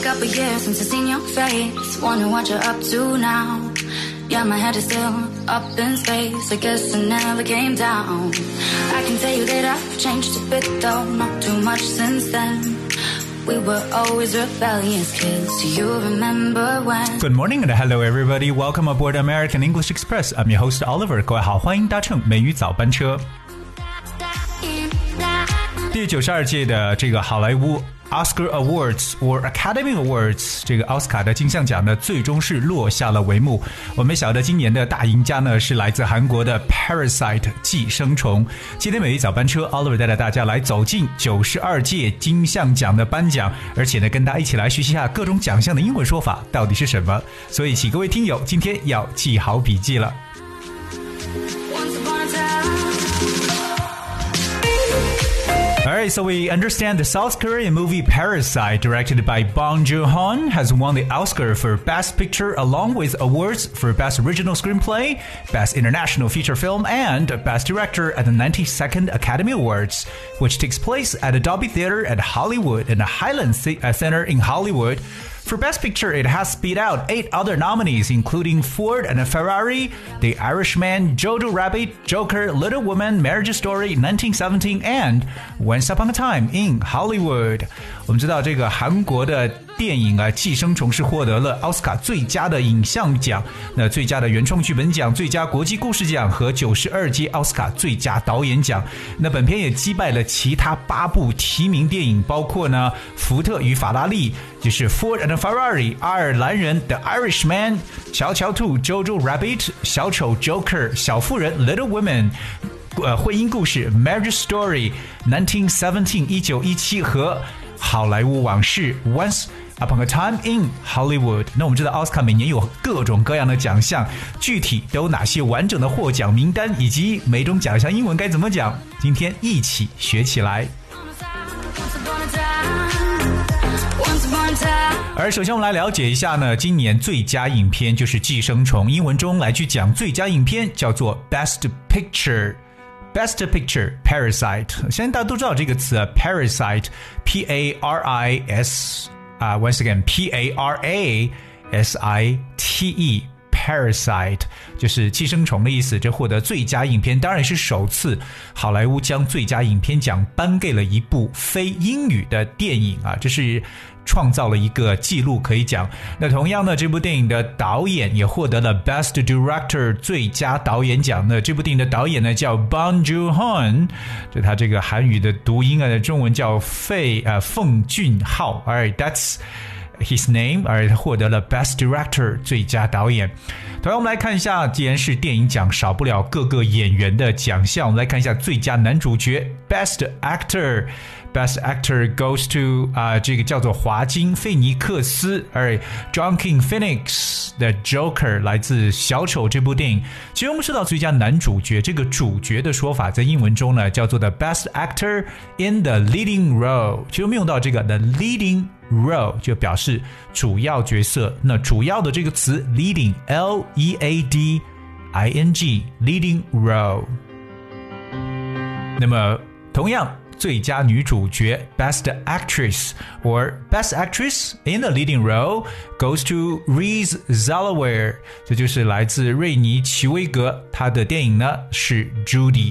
couple years since I've seen your face. Wonder what you're up to now. Yeah, my head is still up in space. I guess I never came down. I can tell you that I've changed a bit though, not too much since then. We were always rebellious kids. Do you remember when? Good morning and hello everybody. Welcome aboard American English Express. I'm your host Oliver. 各位好，欢迎搭乘美语早班车。第92届的这个好莱坞 Oscar Awards or Academy Awards 这个奥斯卡的金像奖呢，最终是落下了帷幕。我们晓得今年的大赢家呢是来自韩国的 Parasite 寄生虫。今天美语早班车 Oliver 带着大家来走进92届金像奖的颁奖，而且呢跟大家一起来学习一下各种奖项的英文说法到底是什么。所以请各位听友今天要记好笔记了。Alright, so we understand the South Korean movie Parasite, directed by Bong Joon-ho, has won the Oscar for Best Picture along with awards for Best Original Screenplay, Best International Feature Film, and Best Director at the 92nd Academy Awards, which takes place at a Dolby Theater at Hollywood and the Highland Center in Hollywood. For Best Picture, it has beat out 8 other nominees, including Ford and Ferrari, The Irishman, Jojo Rabbit, Joker, Little Women, Marriage Story, 1917, and Once Upon a Time in Hollywood. 我们知道这个韩国的电影啊，《寄生虫》是获得了奥斯卡最佳的影像奖、那最佳的原创剧本奖、最佳国际故事奖和92届奥斯卡最佳导演奖。那本片也击败了其他8部提名电影，包括呢《福特与法拉利》，就是 Ford and Ferrari， 爱尔兰人 The Irishman， 乔乔兔 Jojo Rabbit， 小丑 Joker， 小妇人 Little Women，婚姻故事 Marriage Story 1917 1917和好莱坞往事 Once Upon a Time in Hollywood。 那我们知道奥斯卡每年有各种各样的奖项，具体都有哪些完整的获奖名单以及每种奖项英文该怎么讲，今天一起学起来。而首先我们来了解一下呢，今年最佳影片就是《寄生虫》，英文中来去讲最佳影片叫做 Best Picture。Best Picture Parasite， 相信大家都知道这个词啊 Parasite P-A-R-I-S once again P-A-R-A-S-I-T-E Parasite 就是寄生虫的意思。这获得最佳影片当然是首次好莱坞将最佳影片奖颁给了一部非英语的电影啊，这是创造了一个记录可以讲。那同样呢，这部电影的导演也获得了 Best Director 最佳导演奖。那这部电影的导演呢叫 Bong Joon-ho， 就他这个韩语的读音啊，中文叫奉俊昊。Alright, that's his name， 而他获得了 Best Director 最佳导演。同样我们来看一下，既然是电影奖，少不了各个演员的奖项。我们来看一下最佳男主角 Best Actor。Best Actor goes to 这个叫做华金·费尼克斯，而 Joaquin Phoenix 的 Joker 来自小丑这部电影。其实我们说到最佳男主角，这个主角的说法在英文中呢叫做 The Best Actor in the Leading Role。其实我们用到这个 The Leading Role 就表示主要角色。那主要的这个词 Leading L-E-A-D-I-N-G Leading Role。那么同样最佳女主角 Best Actress or Best Actress in the Leading Role goes to Reese Zellweger， 这就是来自瑞妮·齐威格，她的电影呢是 Judy。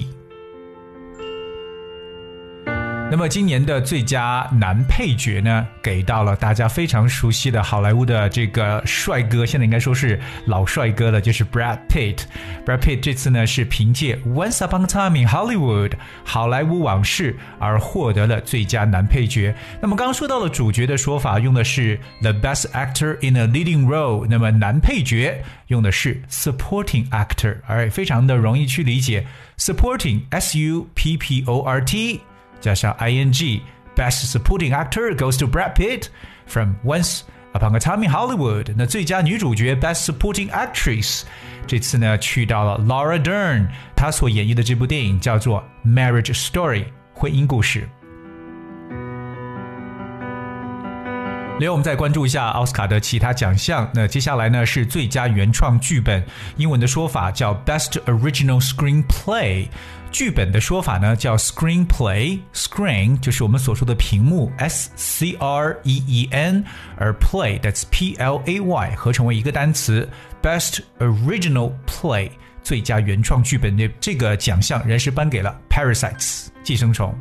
那么今年的最佳男配角呢，给到了大家非常熟悉的好莱坞的这个帅哥，现在应该说是老帅哥了，就是 Brad Pitt。Brad Pitt 这次呢是凭借 Once Upon a Time in Hollywood 好莱坞往事而获得了最佳男配角。那么刚刚说到了主角的说法，用的是 The Best Actor in a Leading Role， 那么男配角用的是 Supporting Actor， 非常的容易去理解。Supporting S-U-P-P-O-R-T加上 ing Best Supporting Actor goes to Brad Pitt from Once Upon a Time in Hollywood。 那最佳女主角 Best Supporting Actress 这次呢去到了 Laura Dern， 她所演绎的这部电影叫做 Marriage Story 婚姻故事。 另外我们再关注一下奥斯卡的其他奖项。那接下来呢是最佳原创剧本，英文的说法叫 Best Original Screenplay， 剧本的说法呢叫 Screenplay， Screen 就是我们所说的屏幕 SCREEN， 而 Play that's PLAY 合成为一个单词 Best Original Play， 最佳原创剧本的这个奖项仍是颁给了 Parasites 寄生虫。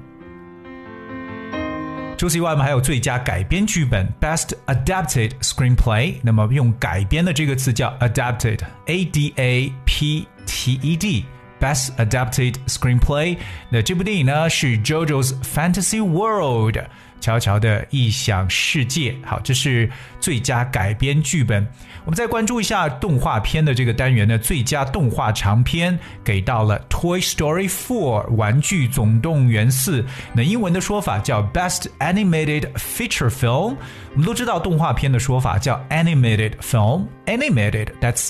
除此以外，我们还有最佳改编剧本 Best Adapted Screenplay， 那么用改编的这个词叫 Adapted ADAPTED Best Adapted Screenplay。 那这部电影呢是 JoJo's Fantasy World， 乔乔的异想世界。好，这是最佳改编剧本。我们再关注一下动画片的这个单元呢，最佳动画长片给到了 Toy Story 4 玩具总动员4，那英文的说法叫 Best Animated Feature Film。 我们都知道动画片的说法叫 Animated Film， Animated that's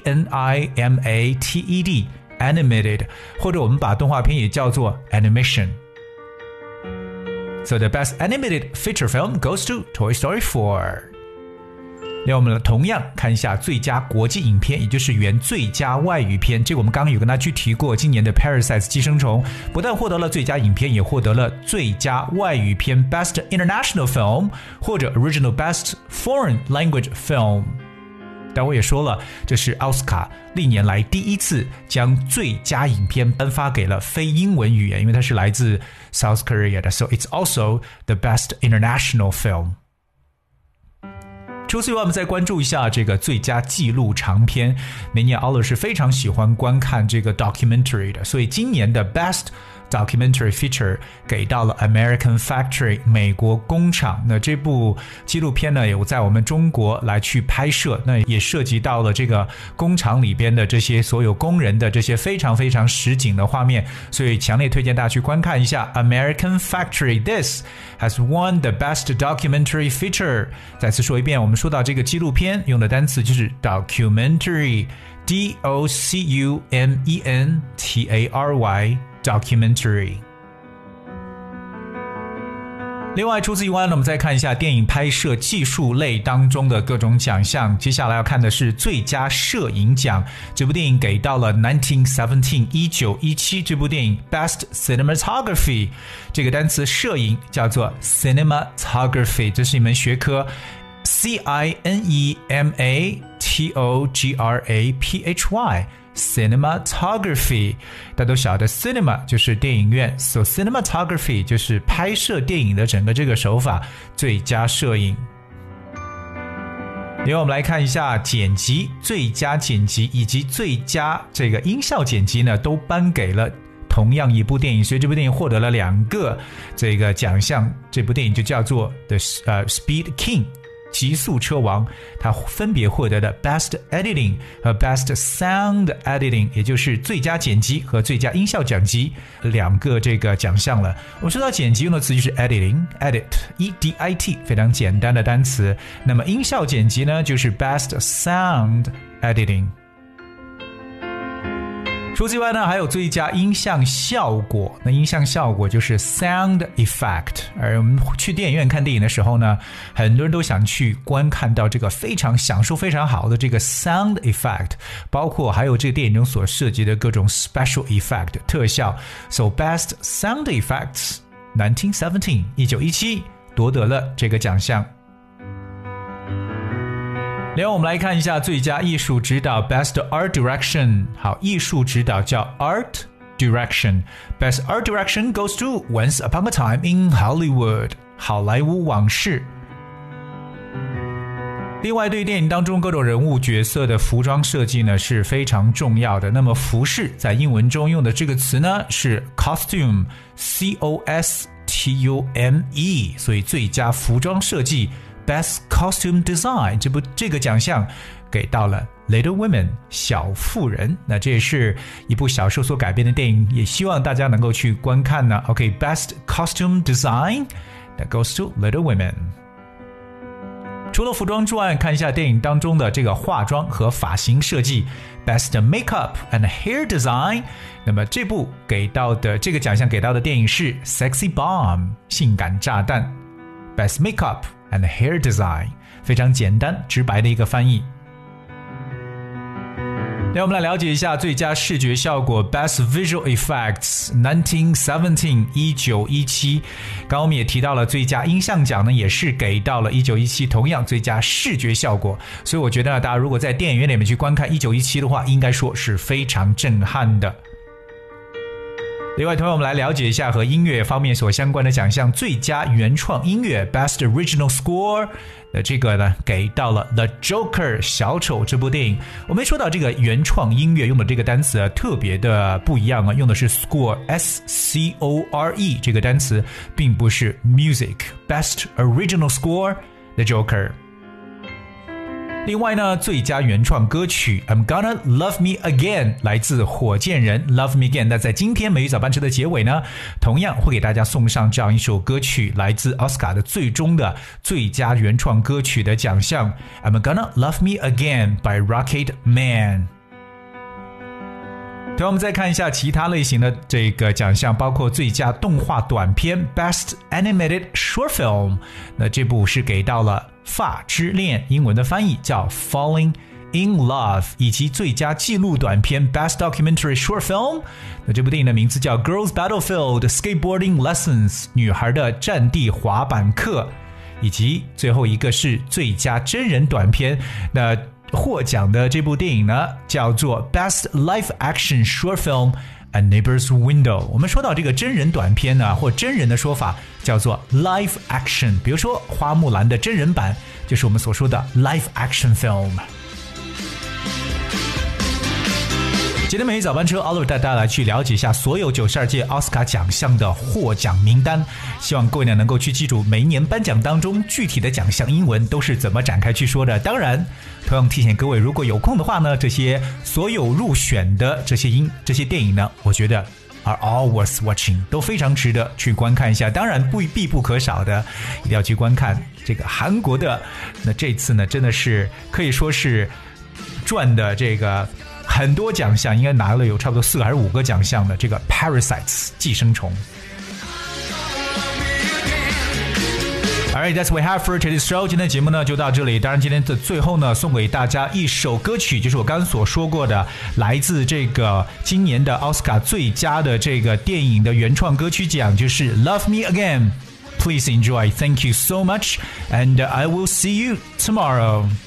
ANIMATED Animated， 或者我们把动画片也叫做 Animation。 So the best animated feature film goes to Toy Story 4。那我们同样看一下最佳国际影片，也就是原最佳外语片。这个我们刚刚有跟大家去提过，今年的 Parasites 寄生虫不但获得了最佳影片，也获得了最佳外语片 Best International Film 或者 Original Best Foreign Language Film。 但我也说了，这是奥斯卡历年来第一次将最佳影片颁发给了非英文语言，因为它是来自 South Korea 的， so it's also the best international film。除此以外，我们再关注一下这个最佳纪录长片。每年奥乐是非常喜欢观看这个 documentary 的，所以今年的 Best Documentary Feature 给到了 American Factory 美国工厂。那这部纪录片呢有在我们中国来去拍摄，那也涉及到了这个工厂里边的这些所有工人的这些非常非常实景的画面，所以强烈推荐大家去观看一下 American Factory。 This has won the Best Documentary Feature。 再次说一遍，我们说到这个纪录片用的单词就是 documentary DOCUMENTARY Documentary。 另外除此以外呢，我们再看一下电影拍摄技术类当中的各种奖项。接下来要看的是最佳摄影奖，这部电影给到了1917 1917这部电影 Best Cinematography。 这个单词摄影叫做 Cinematography， 这是一门学科 CINEMATOGRAPHY Cinematography。 大家都晓得 Cinema 就是电影院， So Cinematography 就是拍摄电影的整个这个手法，最佳摄影。另外我们来看一下剪辑，最佳剪辑以及最佳这个音效剪辑呢都颁给了同样一部电影，所以这部电影获得了2个这个奖项。这部电影就叫做 The Speed King，极速车王，它分别获得的 Best Editing 和 Best Sound Editing， 也就是最佳剪辑和最佳音效奖级2个这个奖项了。我们说到剪辑用的词就是 Editing Edit E-D-I-T 非常简单的单词。那么音效剪辑呢就是 Best Sound Editing。除此以外呢，还有最佳音像效果。那音像效果就是 sound effect。而我们去电影院看电影的时候呢，很多人都想去观看到这个非常享受非常好的这个 sound effect， 包括还有这个电影中所涉及的各种 special effect 特效。So Best Sound Effects 1917 1917夺得了这个奖项。另外我们来看一下最佳艺术指导 Best Art Direction。 好，艺术指导叫 Art Direction。 Best Art Direction goes to Once Upon a Time in Hollywood 好莱坞往事。另外对于电影当中各种人物角色的服装设计呢是非常重要的。那么服饰在英文中用的这个词呢是 costume C-O-S-T-U-M-E， 所以最佳服装设计Best Costume Design 这个奖项给到了 Little Women 小妇人。那这也是一部小说所改编的电影，也希望大家能够去观看呢。OK Best Costume Design that goes to Little Women。 除了服装之外，看一下电影当中的这个化妆和发型设计 Best Makeup and Hair Design。 那么这部给到的这个奖项给到的电影是 Sexy Bomb 性感炸弹。Best Makeup and hair design， 非常简单直白的一个翻译。那我们来了解一下最佳视觉效果 Best Visual Effects 1917 1917。刚刚我们也提到了最佳音像奖呢，也是给到了1917，同样最佳视觉效果。所以我觉得大家如果在电影院里面去观看1917的话，应该说是非常震撼的。另外，同样我们来了解一下和音乐方面所相关的奖项，最佳原创音乐 Best Original Score， 这个呢给到了 The Joker 小丑这部电影。我们说到这个原创音乐用的这个单词特别的不一样啊，用的是 score S-C-O-R-E 这个单词，并不是 music。 Best Original Score The Joker。另外呢，最佳原创歌曲 I'm Gonna Love Me Again 来自火箭人 Love Me Again。 那在今天美语早班车的结尾呢，同样会给大家送上这样一首歌曲，来自奥斯卡的最终的最佳原创歌曲的奖项 I'm Gonna Love Me Again by Rocket Man。对，我们再看一下其他类型的这个奖项，包括最佳动画短片 Best Animated Short Film， 那这部是给到了《发之恋》，英文的翻译叫 Falling in Love， 以及最佳纪录短片 Best Documentary Short Film， 那这部电影的名字叫 Girls Battlefield Skateboarding Lessons， 女孩的战地滑板课，以及最后一个是最佳真人短片。那获奖的这部电影呢，叫做 Best Live Action Short Film A Neighbor's Window。 我们说到这个真人短片呢，或真人的说法叫做 Live Action， 比如说花木兰的真人版就是我们所说的 Live Action Film。今天美语早班车 Oliver 带大家来去了解一下所有92届奥斯卡奖项的获奖名单，希望各位呢能够去记住每一年颁奖当中具体的奖项英文都是怎么展开去说的。当然同样提醒各位，如果有空的话呢，这些所有入选的这些电影呢，我觉得 are all worth watching， 都非常值得去观看一下。当然必不可少的一定要去观看这个韩国的，那这次呢真的是可以说是赚的这个很多奖项，应该拿了有差不多4个还是5个奖项的这个 Parasites 寄生虫。Alright, that's what we have for today's show。 今天的节目呢就到这里。当然今天的最后呢，送给大家一首歌曲，就是我刚刚所说过的，来自这个今年的奥斯卡最佳的这个电影的原创歌曲奖，就是 Love Me Again。Please enjoy. Thank you so much, and I will see you tomorrow.